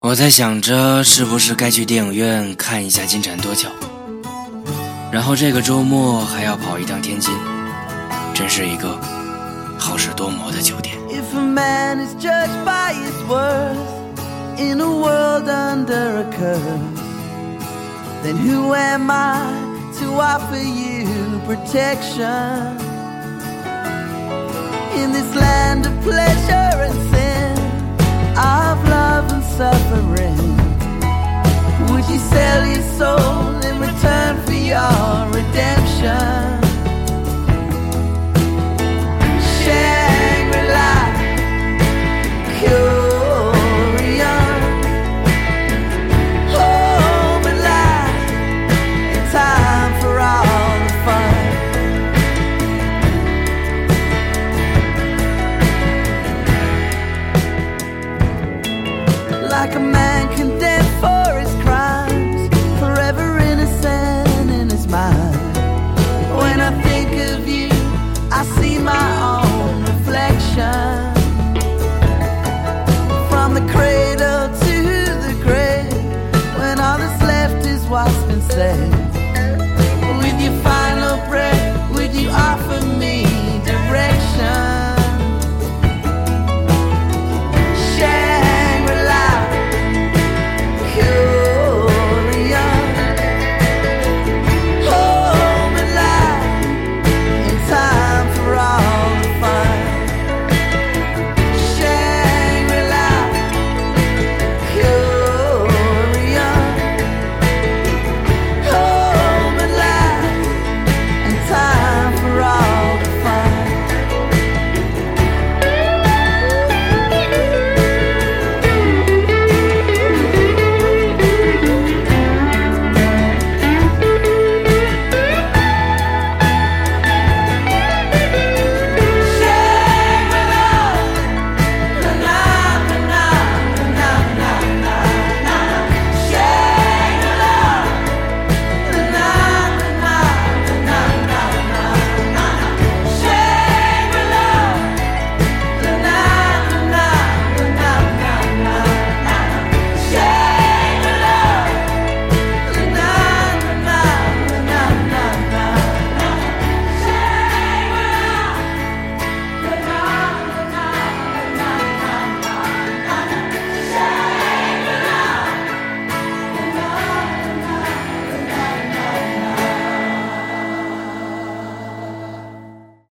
我在想着是不是该去电影院看一下金蝉脱壳，然后这个周末还要跑一趟天津，真是一个好事多磨的9点。 If a man is judged by his worth in a world under a curse, then who am I to offer you protection? In this land of pleasure and sin, of love and suffering, would you sell your soul in return for your redemption? Shangri-La, Curion, home and life, and time for all the fun. Like a man condemned